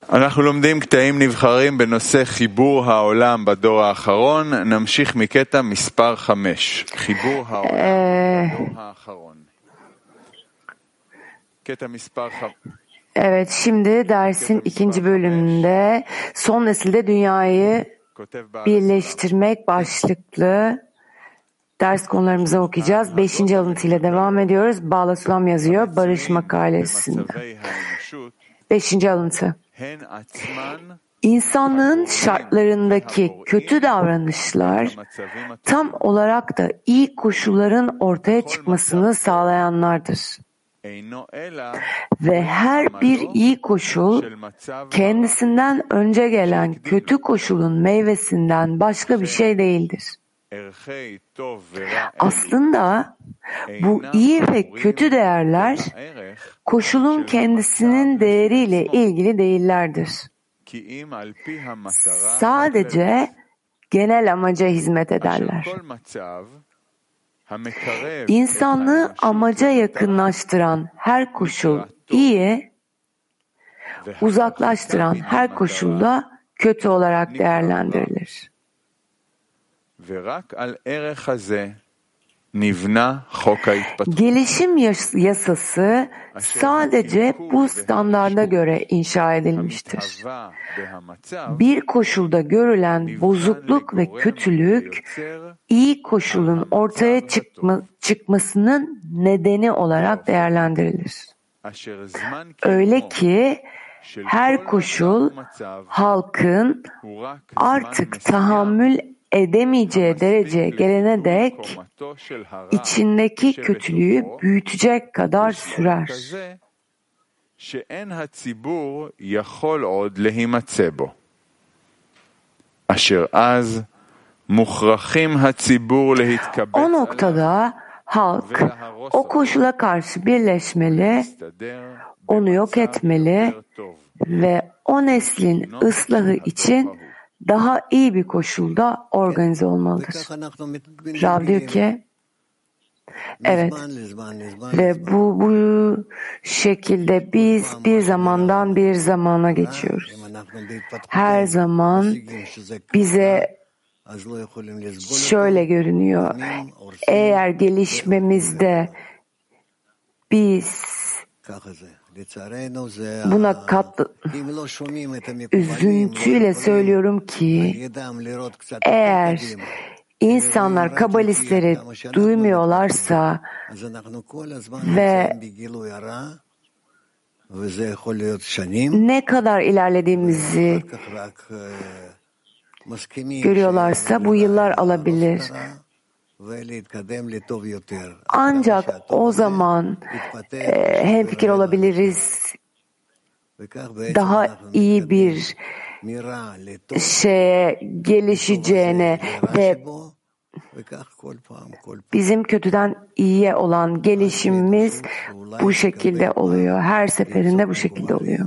אנחנו לומדים קטעים נבחרים בנושא חיבור העולם בדור האחרון. נמשיך מקטע מספר 5. חיבור העולם בדור האחרון. קטע מספר 5. Evet, şimdi dersin ikinci bölümünde son nesilde dünyayı birleştirmek başlıklı ders konularımızı okuyacağız. 5. alıntıyla devam ediyoruz. Bala Sulam yazıyor Barış makalesinde. 5. alıntı. İnsanlığın şartlarındaki kötü davranışlar tam olarak da iyi koşulların ortaya çıkmasını sağlayanlardır. Ve her bir iyi koşul kendisinden önce gelen kötü koşulun meyvesinden başka bir şey değildir. Aslında bu iyi ve kötü değerler koşulun kendisinin değeriyle ilgili değillerdir. Sadece genel amaca hizmet ederler. İnsanlığı amaca yakınlaştıran her koşul iyi, uzaklaştıran her koşul da kötü olarak değerlendirilir. Gelişim yasası sadece bu standarda göre inşa edilmiştir. Bir koşulda görülen bozukluk ve kötülük, iyi koşulun ortaya çıkmasının nedeni olarak değerlendirilir. Öyle ki her koşul halkın artık tahammül edemeyeceği dereceye gelene dek içindeki kötülüğü büyütecek kadar sürer. O noktada halk o koşula karşı birleşmeli, onu yok etmeli ve o neslin ıslahı için daha iyi bir koşulda organize olmalıdır. Rav diyor ki, evet, ve bu şekilde biz bir zamandan bir zamana geçiyoruz. Her zaman bize şöyle görünüyor. Eğer gelişmemizde biz buna üzüntüyle söylüyorum ki eğer insanlar kabalistleri duymuyorlarsa ve ne kadar ilerlediğimizi görüyorlarsa bu yıllar alabilir. Ancak o zaman hemfikir olabiliriz, daha iyi bir şeye gelişeceğine ve bizim kötüden iyiye olan gelişimimiz bu şekilde oluyor. Her seferinde bu şekilde oluyor.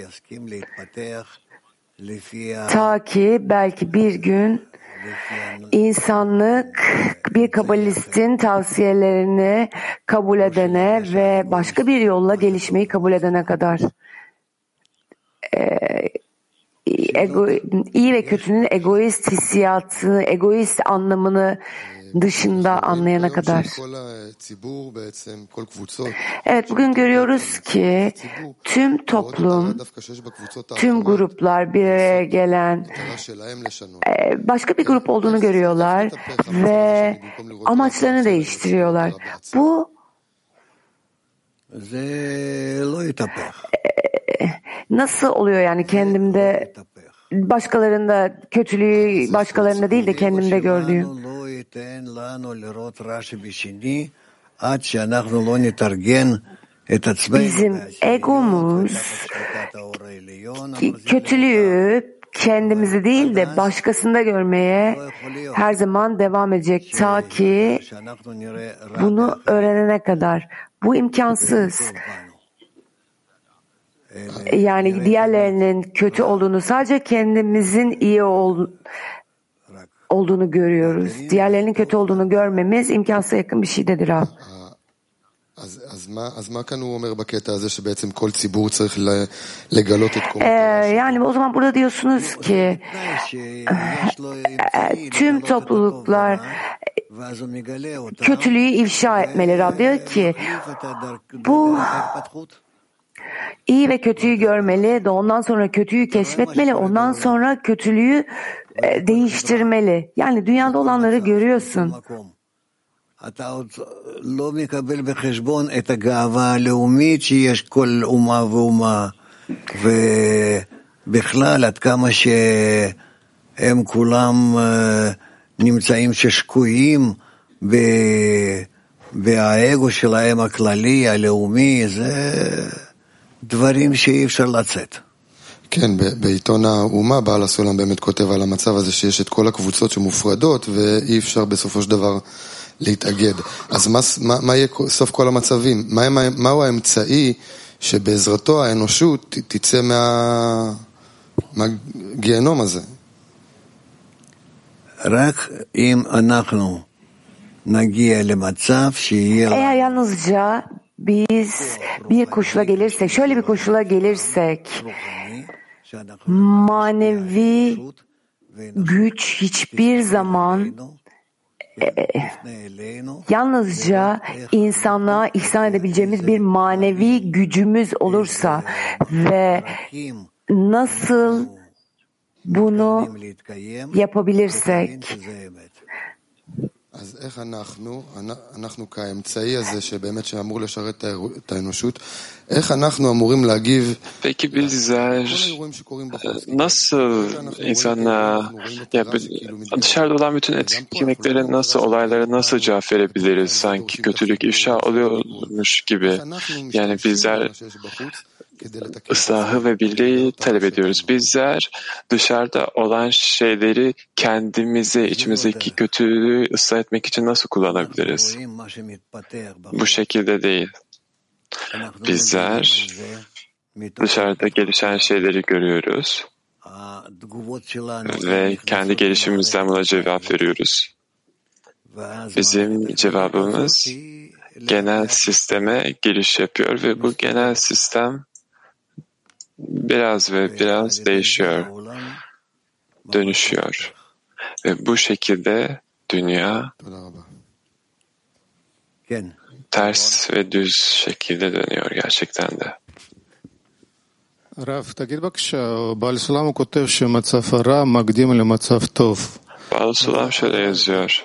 Ta ki belki bir gün insanlık bir kabalistin tavsiyelerini kabul edene ve başka bir yolla gelişmeyi kabul edene kadar iyi ve kötünün egoist hissiyatını, egoist anlamını dışında anlayana kadar. Evet, bugün görüyoruz ki tüm toplum, tüm gruplar bir araya gelen başka bir grup olduğunu görüyorlar ve amaçlarını değiştiriyorlar. Bu nasıl oluyor yani kendimde, başkalarında kötülüğü başkalarında değil de kendimde gördüğüm. Bizim egomuz kötülüğü kendimizi değil de başkasında görmeye her zaman devam edecek ta ki bunu öğrenene kadar. Bu imkansız. Yani diğerlerinin kötü olduğunu, sadece kendimizin iyi olduğunu görüyoruz. Diğerlerinin kötü olduğunu görmemiz imkansıza yakın bir şeydir abi. Yani o zaman burada diyorsunuz ki tüm topluluklar kötülüğü ifşa etmeli. Rab diyor ki bu iyi ve kötüyü görmeli, ondan sonra kötüyü keşfetmeli, ondan sonra kötülüğü değiştirmeli. Yani dünyada olanları görüyorsun. אתה עוד לא מקבל בחשבון את הגאווה הלאומית שיש כל אומה ואומה, ובכלל עד כמה שהם כולם נמצאים ששקועים והאגו שלהם הכללי, הלאומי, זה דברים שאי אפשר לצאת. כן, בעיתון האומה בעל הסולם באמת כותב על המצב הזה שיש את כל הקבוצות שמופרדות ואי אפשר בסופו של דבר להתאגד. אז מה יהיה סוף כל המצבים? מהו האמצעי שבעזרתו האנושות תצא מהגיהנום הזה? רק אם אנחנו נגיע למצב שיהיה... Eğer yalnızca biz bir koşula gelirsek, şöyle bir koşula gelirsek, manevi güç hiçbir zaman yalnızca insanlığa ihsan edebileceğimiz bir manevi gücümüz olursa ve nasıl bunu yapabilirsek, אז איך אנחנו כאמצעי הזה שבאמת שאמור לשרת את האנושות, איך אנחנו אמורים להגיב? Peki bizler nasıl insanlara, dışarıda olan bütün etkinliklere, nasıl olaylara nasıl cevap verebiliriz? Sanki kötülük ifşa oluyormuş gibi. Yani bizler ıslahı ve birliği talep ediyoruz. Bizler dışarıda olan şeyleri kendimizi, içimizdeki kötülüğü ıslah etmek için nasıl kullanabiliriz? Bu şekilde değil. Bizler dışarıda gelişen şeyleri görüyoruz ve kendi gelişimimizden buna cevap veriyoruz. Bizim cevabımız genel sisteme giriş yapıyor ve bu genel sistem biraz değişiyor, dönüşüyor. Ve bu şekilde dünya ters ve düz şekilde dönüyor gerçekten de. רב, תגיד בבקשה, בעל סולם הוא כותב שמצב הרע מקדים למצב טוב. Baal Sulam şöyle yazıyor.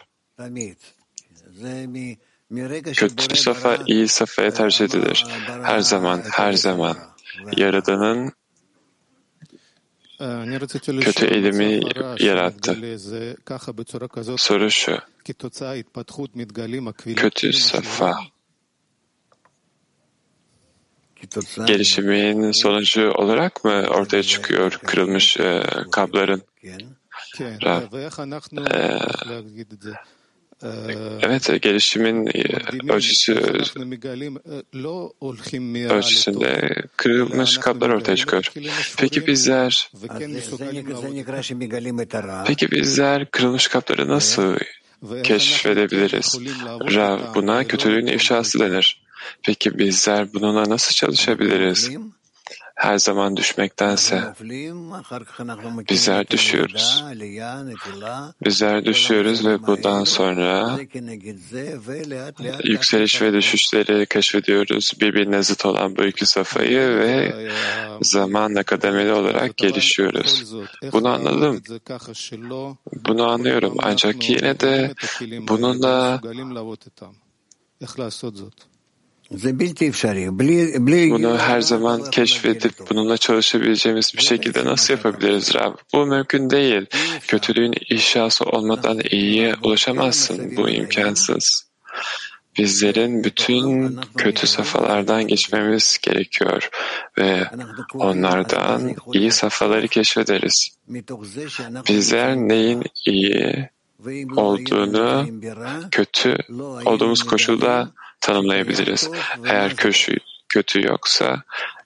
Kötü safa iyi safaya tercih edilir. Her zaman. Yaradanın kötü eylemi yarattı. Soru şu. Kötü safa gelişimin sonucu olarak mı ortaya çıkıyor kırılmış kabların? Evet, gelişimin ölçüsünde kırılmış kablar ortaya çıkıyor. Peki bizler kırılmış kabları nasıl keşfedebiliriz? Buna kötülüğün ifşası denir. Peki bizler bununla nasıl çalışabiliriz? Her zaman düşmektense bizler düşüyoruz ve bundan sonra yükseliş ve düşüşleri keşfediyoruz. Birbirine zıt olan bu iki safhayı ve zamanla kademeli olarak gelişiyoruz. Bunu anladım. Bunu anlıyorum. Ancak yine de bununla bunu her zaman keşfedip bununla çalışabileceğimiz bir şekilde nasıl yapabiliriz Rab? Bu mümkün değil. Kötülüğün ifşası olmadan iyiye ulaşamazsın. Bu imkansız. Bizlerin bütün kötü safhalardan geçmemiz gerekiyor ve onlardan iyi safhaları keşfederiz. Bizler neyin iyi olduğunu kötü olduğumuz koşulda tanımlayabiliriz. Eğer kötü yoksa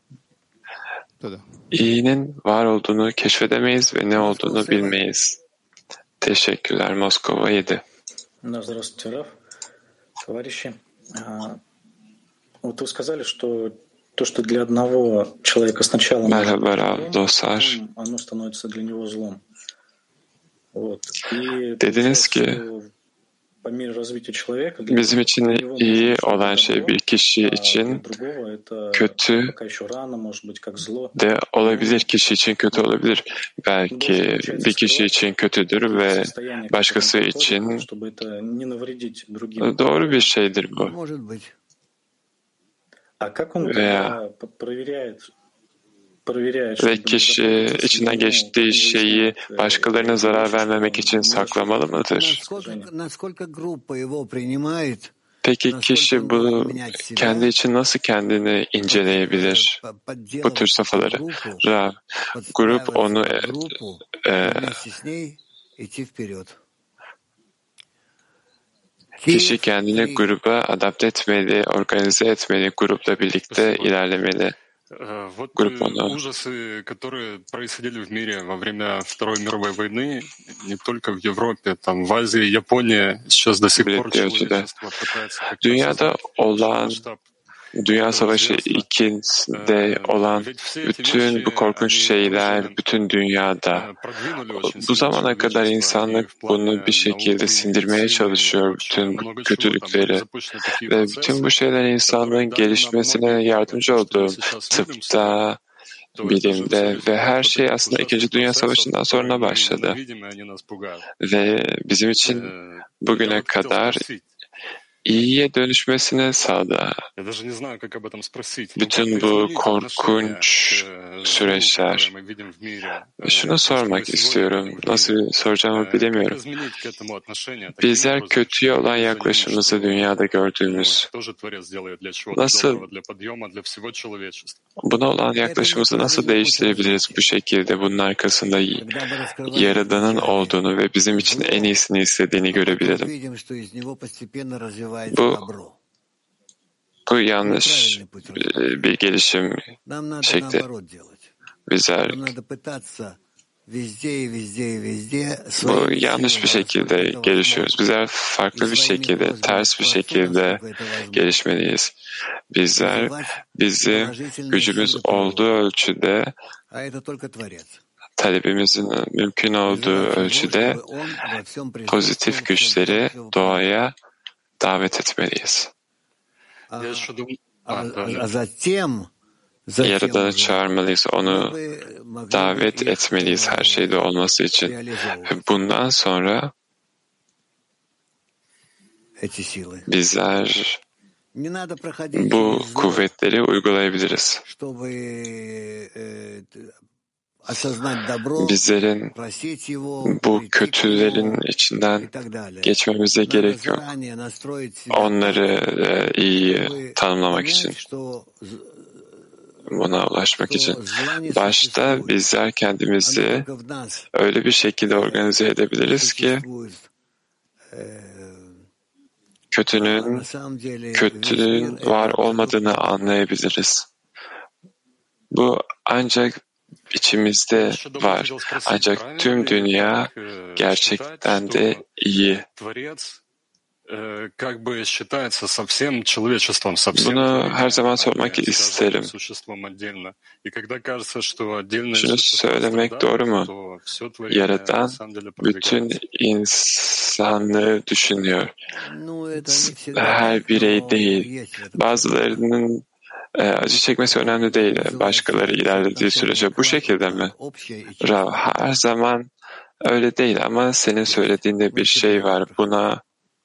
iyinin var olduğunu keşfedemeyiz ve ne olduğunu bilmeyiz. Teşekkürler. Moskova 7. Вот вы сказали, что то, что для одного человека сначала Merhaba Rav dostlar. оно становится для него злом. Вот. И Dediniz ki по мере развития человека bizim için iyi olan şey bir kişi için kötü de olabilir, kişi için kötü olabilir. Belki bir kişi için kötüdür ve başkası için doğru bir şeydir bu. Veya ve kişi içinden geçtiği şeyi başkalarına zarar vermemek için saklamalı mıdır? Peki kişi bunu kendi için nasıl kendini inceleyebilir? Bu tür safhaları. Rav, grup onu kişi kendini gruba adapte etmeli, organize etmeli, grupla birlikte ilerlemeli. Вот ужасы, которые происходили в мире во время Второй мировой войны, не только в Европе, там в Азии, Японии, сейчас до сих пор человечество пытается Dünyada olan Dünya Savaşı II'de olan bütün bu korkunç şeyler bütün dünyada. Bu zamana kadar insanlık bunu bir şekilde sindirmeye çalışıyor, bütün bu kötülükleri. Ve bütün bu şeyler insanlığın gelişmesine yardımcı oldu. Tıpta, bilimde ve her şey aslında İkinci Dünya Savaşı'ndan sonra başladı. Ve bizim için bugüne kadar iyiye dönüşmesine sağladı. Bütün bu korkunç süreçler. Şunu sormak istiyorum. Nasıl soracağımı bilemiyorum. Bizler kötüye olan yaklaşımımızı dünyada gördüğümüz nasıl buna olan yaklaşımımızı nasıl değiştirebiliriz bu şekilde bunun arkasında Yaradan'ın olduğunu ve bizim için en iyisini istediğini görebilirim. Bu yanlış bir gelişim şekli. Bizler bu yanlış bir şekilde gelişiyoruz. Bizler farklı bir şekilde, ters bir şekilde gelişmeliyiz. Bizler bizi gücümüz olduğu ölçüde, talebimizin mümkün olduğu ölçüde pozitif güçleri doğaya davet etmeliyiz. Yaradan'ı çağırmalıyız, onu davet etmeliyiz her şeyde olması için. Bundan sonra bizler bu kuvvetleri uygulayabiliriz. Bizlerin bu kötülerin içinden geçmemize gerek yok. Onları iyi tanımlamak için, buna ulaşmak için. Başta bizler kendimizi öyle bir şekilde organize edebiliriz ki kötülüğün var olmadığını anlayabiliriz. Bu ancak içimizde var. Ancak tüm dünya gerçekten de iyi. Bunu her zaman sormak isterim. Şunu söylemek doğru mu? Yaradan bütün insanlığı düşünüyor. Her birey değil. Bazılarının acı çekmesi önemli değil. Başkaları ilerlediği sürece bu şekilde mi? Rav, her zaman öyle değil ama senin söylediğinde bir şey var. Buna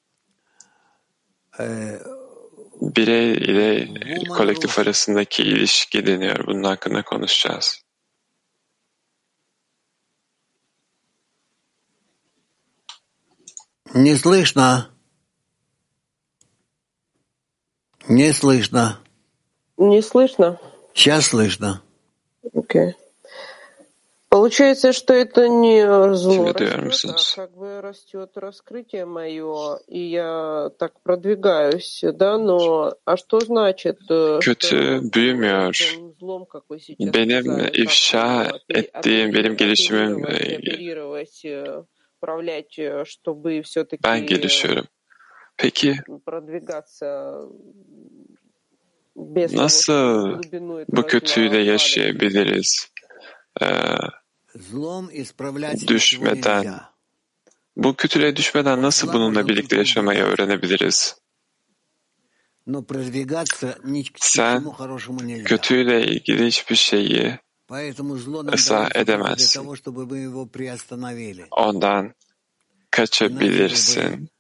birey ile kolektif arasındaki ilişki deniyor. Bunun hakkında konuşacağız. Не слышно. Не слышно. Не слышно? Сейчас слышно. Окей. Получается, что это не зло растет, а как бы растет раскрытие мое, и я так продвигаюсь, да, но а что значит, kötü büyümüyor. Benim ifşa ettiğim, benim gelişimim, ben gelişiyorum. Peki Nasıl bu kötüyle yaşayabiliriz? Düşmeden, bu kötülüğe düşmeden nasıl bununla birlikte yaşamayı öğrenebiliriz? Sen kötüyle ilgili hiçbir şeyi ıslah edemezsin. Ondan kaçabilirsin.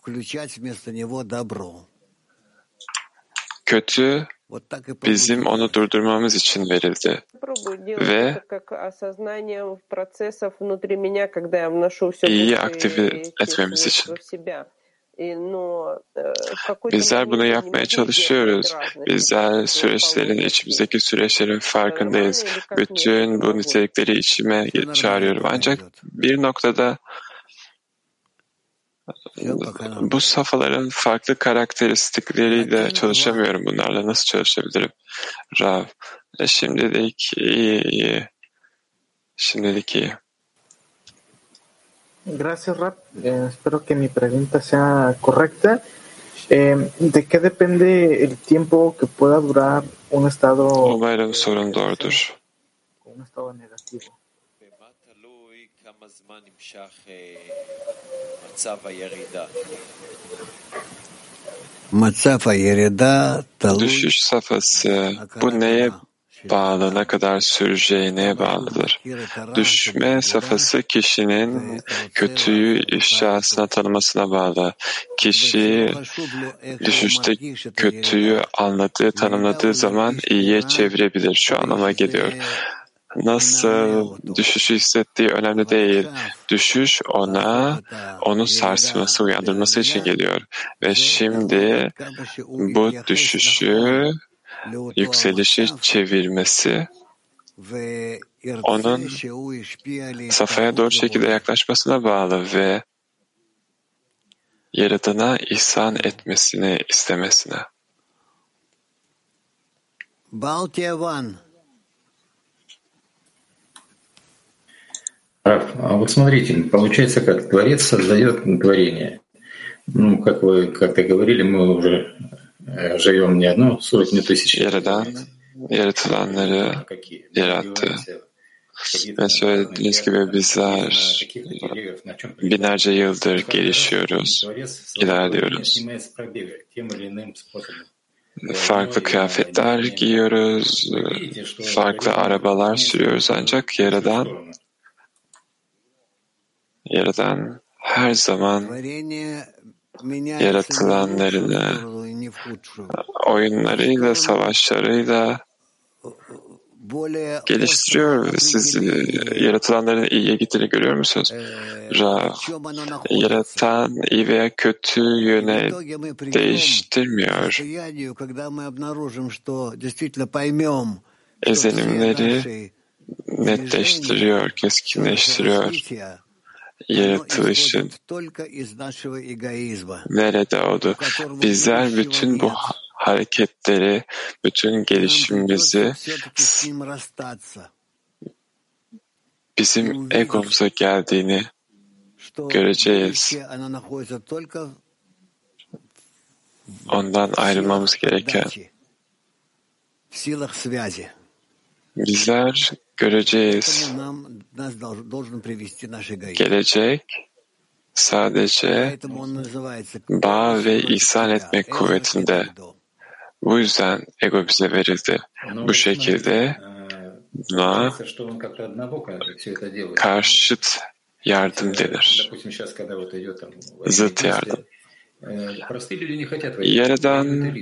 Kötü bizim onu durdurmamız için verildi. Ve iyiyi aktive etmemiz için. Bizler bunu yapmaya çalışıyoruz. Bizler içimizdeki süreçlerin farkındayız. Bütün bu nitelikleri içime çağırıyorum. Ancak bir noktada bu safhaların farklı karakteristikleriyle çalışamıyorum. Bunlarla nasıl çalışabilirim? Rav, şimdilik iyi. Şimdilik iyi. Gracias, Rab. Espero que mi pregunta sea correcta. ¿De qué depende el tiempo que pueda durar un estado? Umarım sorun doğrudur. Un estado negativo. Düşüş safhası bu neye bağlı, ne kadar süreceğine bağlıdır. Düşme safhası kişinin kötüyü ifşasına tanımasına bağlı. Kişi düşüşte kötüyü anladığı, tanımladığı zaman iyiye çevirebilir. Şu anlama geliyor. Nasıl düşüşü hissettiği önemli değil. Düşüş onu sarsması, uyandırması için geliyor. Ve şimdi bu düşüşü yükselişi çevirmesi, onun safhaya doğru şekilde yaklaşmasına bağlı ve Yaradan'a ihsan etmesini istemesine. А вот смотрите, получается как, Творец создает творение. Ну, как вы как-то говорили, мы уже живем не одну сотню тысяч лет. Yaradan yaratılanları yarattı. Ve söylediğiniz gibi bizler binlerce yıldır gelişiyoruz, ilerliyoruz. Farklı kıyafetler giyiyoruz, farklı arabalar sürüyoruz ancak Yaradan her zaman yaratılanlarını oyunlarıyla, savaşlarıyla geliştiriyor. Siz yaratılanların iyiye gittiğini görüyor musunuz? Yaratan iyi veya kötü yöne değiştirmiyor. Ezenimleri netleştiriyor, keskinleştiriyor. Yaratılışın nerede oldu? Bizler bütün bu hareketleri, bütün gelişimimizi bizim egomuza geldiğini göreceğiz. Ondan ayrılmamız gereken. Bizler göreceğiz. Gelecek sadece bağ ve ihsan etmek kuvvetinde. Bu yüzden ego bize verildi. Bu şekilde buna karşıt yardım denir. Zıt yardım. Yaradan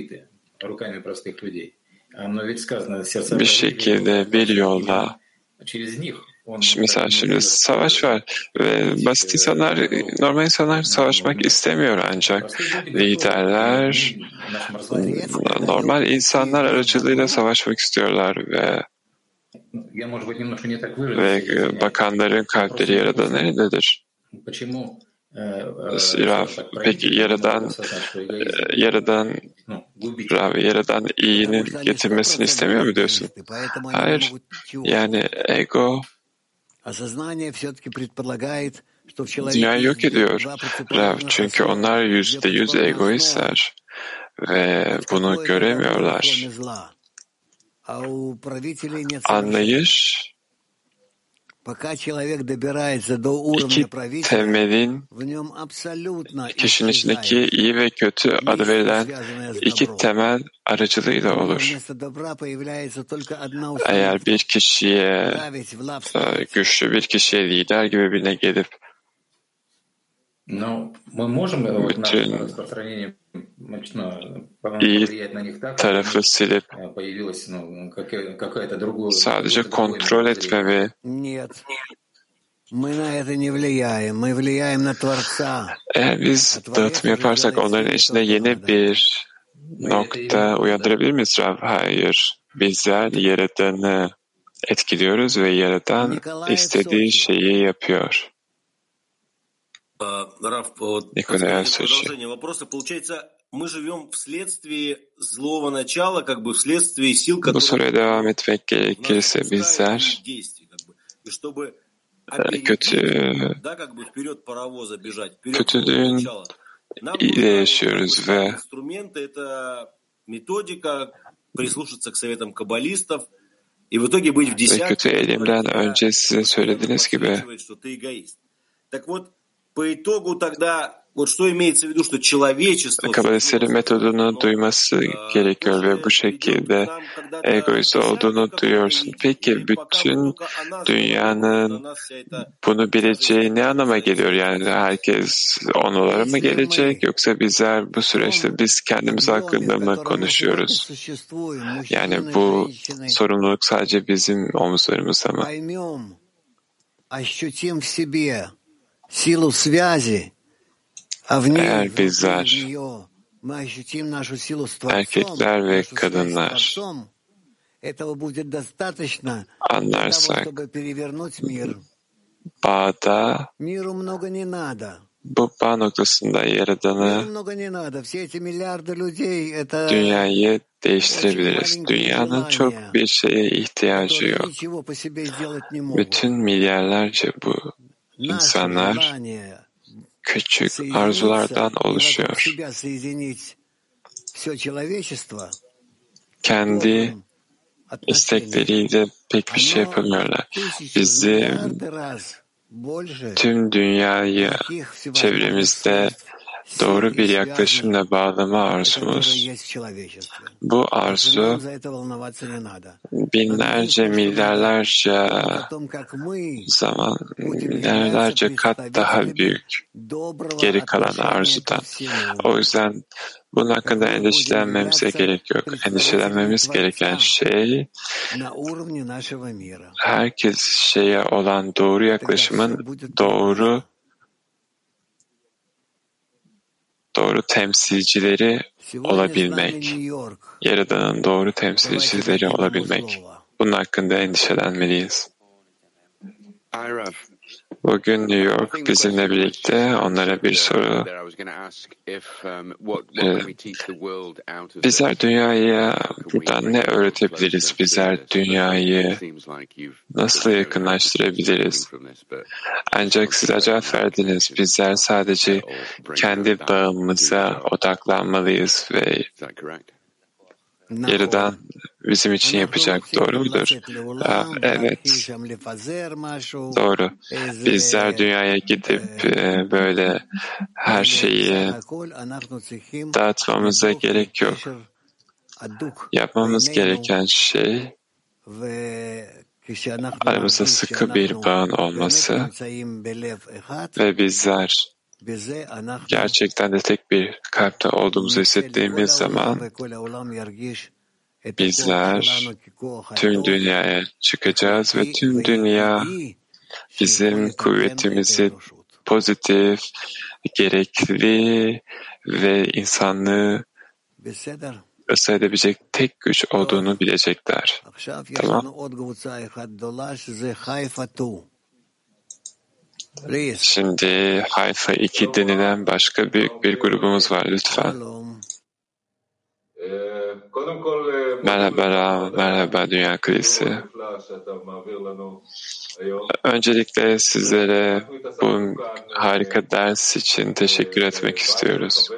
bir şekilde bir yolla, mesela şimdi savaş var ve basit insanlar, normal insanlar savaşmak istemiyor ancak liderler normal insanlar aracılığıyla savaşmak istiyorlar ve bakanların kalpleri Yaradan'ın elindedir. Peki Yaradan iyinin getirmesini istemiyor mu diyorsun? Hayır. Yani ego Dünyayı yok ediyor Rav. Çünkü onlar %100 egoistler ve bunu göremiyorlar. Anlayış iki temelin, kişinin içindeki iyi ve kötü adı verilen iki temel aracılığıyla olur. Eğer bir kişiye, güçlü bir kişiye, lider gibi birine gelip bütün iyi tarafı silip sadece kontrol etmemi, eğer biz dağıtım yaparsak onların içinde yeni bir nokta uyandırabilir miyiz Rav? Hayır. Bizler Yaradan'ı etkiliyoruz ve Yaradan istediği şeyi yapıyor. Nikolay Sochi. Bu soruya devam etmek gerekirse bizler kötülüğün ile yaşıyoruz ve kötü elimden önce size söylediğiniz gibi Kabalistlerin metodunu duyması gerekiyor ve bu şekilde egoist olduğunu duyuyorsun. Peki bütün dünyanın bunu bileceği ne anlama geliyor? Yani herkes onlara mı gelecek yoksa bizler bu süreçte biz kendimiz hakkında mı konuşuyoruz? Yani bu sorumluluk sadece bizim omuzlarımızda mı? Eğer bizler, erkekler ve kadınlar anlarsak, bağda, bu bağ noktasında Yaradan'ı, dünyayı değiştirebiliriz. Dünyanın çok bir şeye ihtiyacı yok. Bütün milyarlarca bu insanlar küçük arzulardan oluşuyor. Kendi istekleriyle pek bir şey yapamıyorlar. Bizim tüm dünyayı çevremizde doğru bir yaklaşımla bağlama arzumuz. Bu arzu binlerce, milyarlarca zaman, milyarlarca kat daha büyük geri kalan arzudan. O yüzden bunun hakkında endişelenmemize gerek yok. Endişelenmemiz gereken şey herkes şeye olan doğru yaklaşımın doğru temsilcileri olabilmek. Yaradan'ın doğru temsilcileri olabilmek. Bunun hakkında endişelenmeliyiz. Bugün New York bizimle birlikte, onlara bir soru. Bizler dünyaya buradan ne öğretebiliriz? Bizler dünyayı nasıl yakınlaştırabiliriz? Ancak siz cevap verdiniz. Bizler sadece kendi bağımıza odaklanmalıyız ve Yaradan bizim için yapacak. Doğru mudur? Evet. Doğru. Bizler dünyaya gidip böyle her şeyi dağıtmamıza gerek yok. Yapmamız gereken şey aramızda sıkı bir bağın olması ve bizler gerçekten de tek bir kalpte olduğumuzu hissettiğimiz zaman bizler tüm dünyaya çıkacağız ve tüm dünya bizim kuvvetimizi pozitif, gerekli ve insanlığı ıslah edebilecek tek güç olduğunu bilecekler. Tamam. Şimdi Hayfa 2 denilen başka büyük bir grubumuz var. Lütfen. Merhaba Ram, merhaba Dünya Kilisi. Öncelikle sizlere bu harika ders için teşekkür etmek istiyoruz.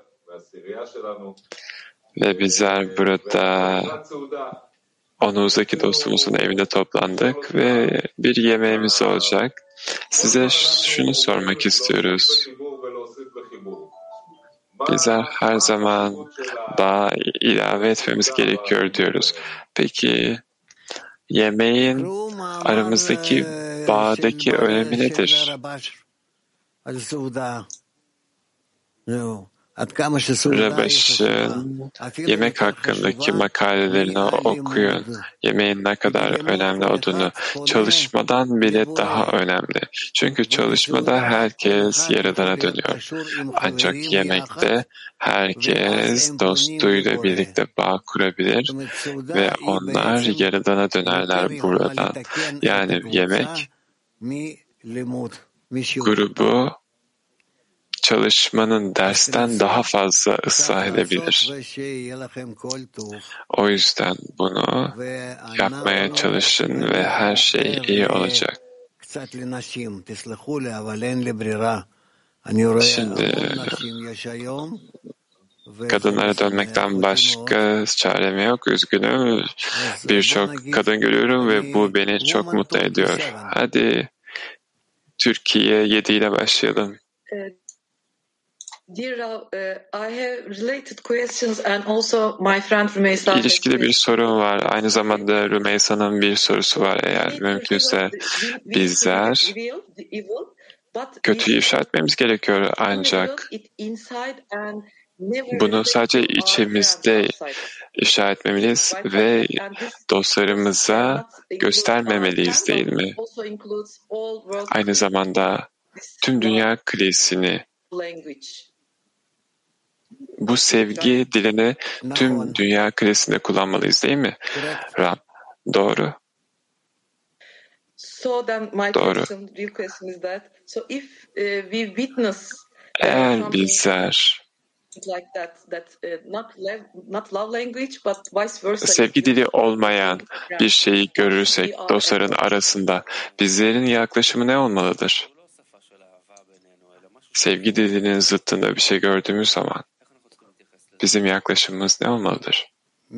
Ve bizler burada Onuzdaki dostumuzun evinde toplandık ve bir yemeğimiz olacak. Size şunu sormak istiyoruz. Bizler her zaman bağ ilave etmemiz gerekiyor diyoruz. Peki yemeğin aramızdaki bağdaki önemi nedir? Rabaş'ın yemek hakkındaki makalelerini okuyun. Yemeğin ne kadar önemli olduğunu, çalışmadan bile daha önemli. Çünkü çalışmada herkes Yaradan'a dönüyor. Ancak yemekte herkes dostuyla birlikte bağ kurabilir ve onlar Yaradan'a dönerler buradan. Yani yemek grubu çalışmanın dersten daha fazla ıslah edebilir. O yüzden bunu yapmaya çalışın ve her şey iyi olacak. Şimdi kadınlara dönmekten başka çarem yok. Üzgünüm. Birçok kadın görüyorum ve bu beni çok mutlu ediyor. Hadi Türkiye 7 ile başlayalım. Dear Rav, I have related questions and also my friend Rümeysa. İlişkide bir sorun var. Aynı zamanda Rümeysa'nın bir sorusu var. Eğer mümkünse bizler kötüyü ifşa etmemiz gerekiyor ancak bunu sadece içimizde ifşa etmemeliyiz ve dostlarımıza göstermemeliyiz, değil mi? Aynı zamanda tüm dünya kilisini, bu sevgi dilini tüm dünya kilisinde kullanmalıyız, değil mi? Ram, doğru. Doğru. Eğer bizler sevgi dili olmayan bir şeyi görürsek dostların arasında bizlerin yaklaşımı ne olmalıdır? Sevgi dilinin zıttında bir şey gördüğümüz zaman bizim yaklaşımımız ne olmalıdır?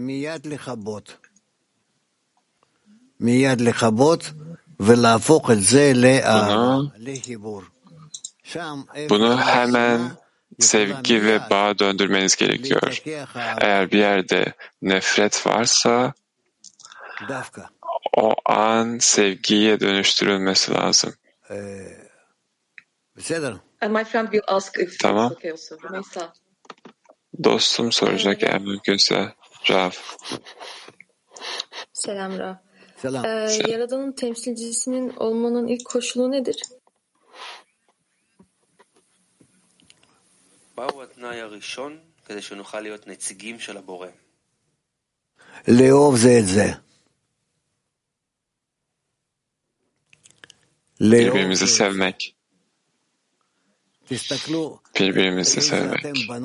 Bunu hemen sevgi ve bağa döndürmeniz gerekiyor. Eğer bir yerde nefret varsa o an sevgiye dönüştürülmesi lazım. Tamam. Dostum soracak eğer mümkünse. Rav. Selam Rav. Yaradan'ın temsilcisinin olmanın ilk koşulu nedir? Birbirimizi sevmek. Birbirimizi sevmek.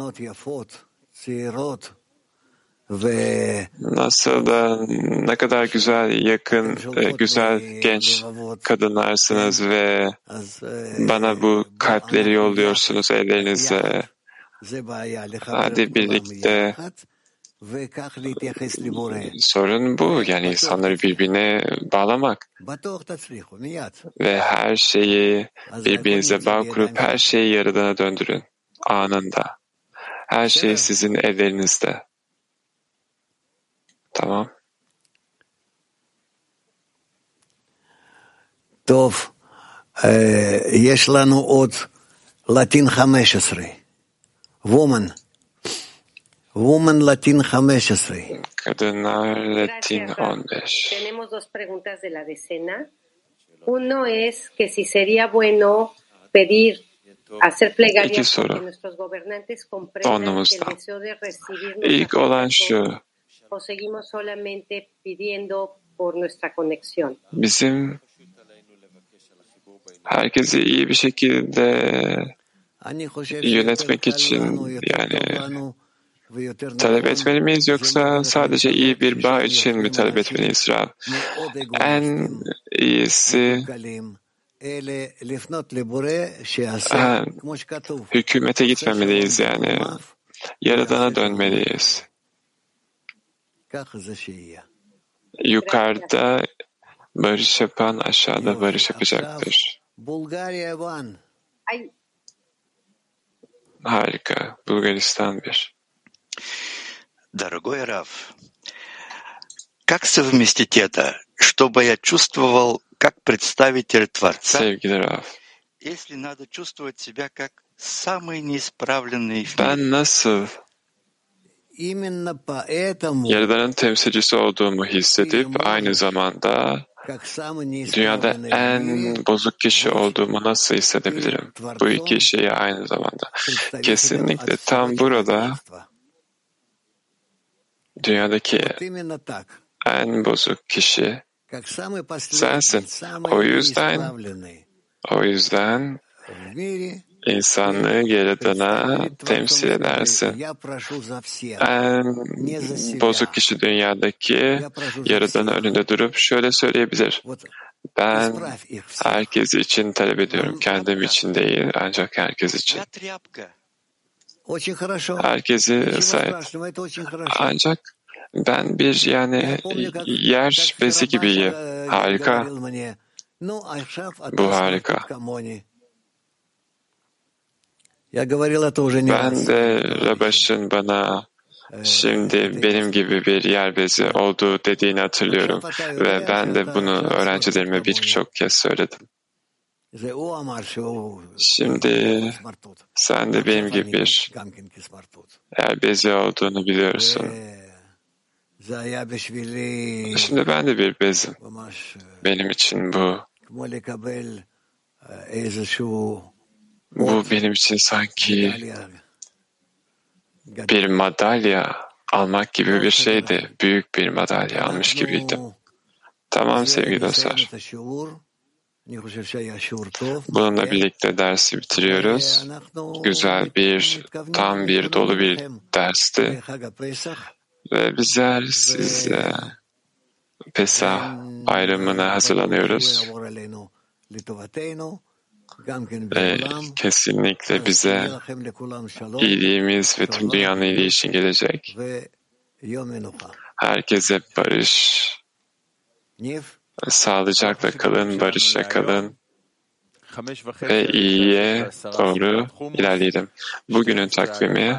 Nasıl da ne kadar güzel, yakın, güzel genç kadınlarsınız ve bana bu kalpleri yolluyorsunuz ellerinizle. Hadi birlikte. Sorun bu, yani insanları birbirine bağlamak ve her şeyi birbirinize bağ kurup her şeyi Yaradan'a döndürün anında. Her şey sizin ellerinizde. Tamam. Tov, yesh lanu od Latin 15. Woman Latin 15. Kadınlar Latin 15. Tenemos dos preguntas de la decena. Uno es que si sería bueno pedir hacer plegarias para que nuestros gobernantes comprendan que el deseo de recibir İlk olan şu. O seguimos solamente pidiendo por nuestra conexión. Bizim herkesi iyi bir şekilde yönetmek için, yani talep etmeli miyiz yoksa sadece iyi bir bağ için mi talep etmeliyiz Rab? En iyisi hükümete gitmemeliyiz yani. Yaradana dönmeliyiz. Yukarıda barış yapan aşağıda barış yapacaktır. Harika. Bulgaristan 1. Дорогой Рав, как совместить это, чтобы я чувствовал как представитель Творца, Sevgili Rav, если надо чувствовать себя как самый неисправленный в ben мире? nasıl Yaradan'ın temsilcisi olduğumu hissedip aynı zamanda dünyada en bozuk kişi olduğumu nasıl hissedebilirim? Bu iki şeyi aynı zamanda. Kesinlikle tam burada dünyadaki en bozuk kişi sensin. O yüzden İnsanlığı Yaradan'a temsil edersin. En bozuk kişi dünyadaki Yaradan'ın önünde durup şöyle söyleyebilir. Ben herkes için talep ediyorum. Kendim için değil, ancak herkes için. Herkesi sahip. Ancak ben bir yer bezi gibiyim. Harika. Bu harika. Ben de Rabaş'ın bana şimdi benim gibi bir yer bezi olduğu dediğini hatırlıyorum ve ben de bunu öğrencilerime birçok kez söyledim. Şimdi sen de benim gibi bir yer bezi olduğunu biliyorsun. Şimdi ben de bir bezim. Benim için bu benim için sanki bir madalya almak gibi bir şeydi. Büyük bir madalya almış gibiydim. Tamam sevgili dostlar. Bununla birlikte dersi bitiriyoruz. Güzel tam bir dolu bir dersti. Ve bizler size Pesah bayramına hazırlanıyoruz. Ve kesinlikle bize iyiliğimiz ve tüm dünyanın iyiliği için gelecek. Herkese barış, sağlıcakla kalın, barışla kalın ve iyiye doğru ilerleyelim. Bugünün takvimi,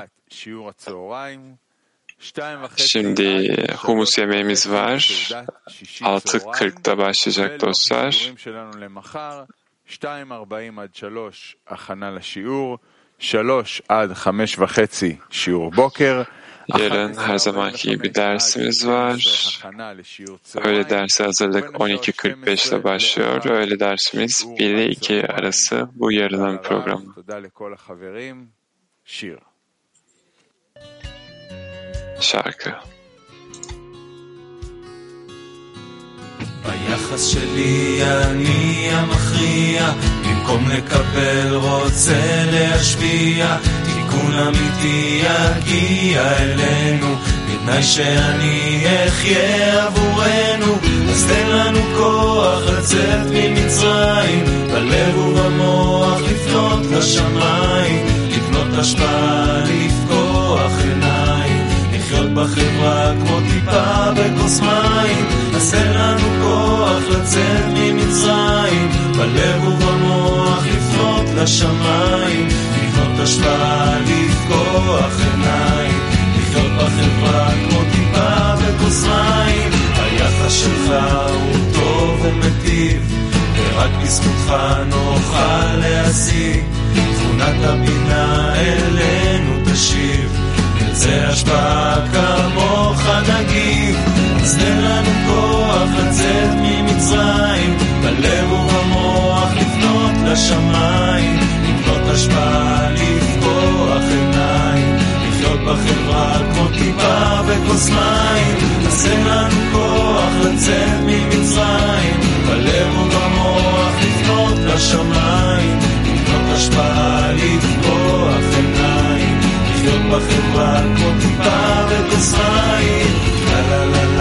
şimdi humus yemeğimiz var. 6:40'da başlayacak dostlar. 2:40 עד 3 הכנה לשיעור, 3 עד 5:30 שיעור בוקר. Yarın her zamanki gibi dersimiz var. Öğle dersi hazırlık 12:45'te başlıyor. Öğle dersimiz 1 ile 2 arası bu yarının programı. Şarkı. ביחס שלי אני המכריע, במקום לקבל רוצה להשפיע, תיקון אמיתי יגיע אלינו, בתנאי שאני אחיה עבורנו, אז תן לנו כוח לצאת ממצרים, בלב ובמוח לפנות לשמיים, לבנות השפעה, לפקוח עיניים, לחיות בחברה כמו טיפה בכוס מים, אז תן לנו כוח לצאת ממצרים, בלב ובמוח לפנות לשמיים, לבנות השפעה, לפקוח עיניים, לחיות בחברה כמו טיפה בכוס מים, היחס שלך הוא טוב ומטיב, ורק בזכותך נוכל להשיג, תכונת הבינה אלינו תשיב, נרצה השפעה כמוך נגיב, אז תן לנו כוח לצאת ממצרים, בלב ובמוח לפנות לשמיים, לבנות השפעה, לפקוח עיניים, לחיות בחברה כמו טיפה בכוס מים, אז תן לנו כוח לצאת ממצרים, בלב ובמוח לפנות לשמיים, לבנות השפעה, לפקוח עיניים, לחיות בחברה כמו טיפה וכוס מים. לה לה לה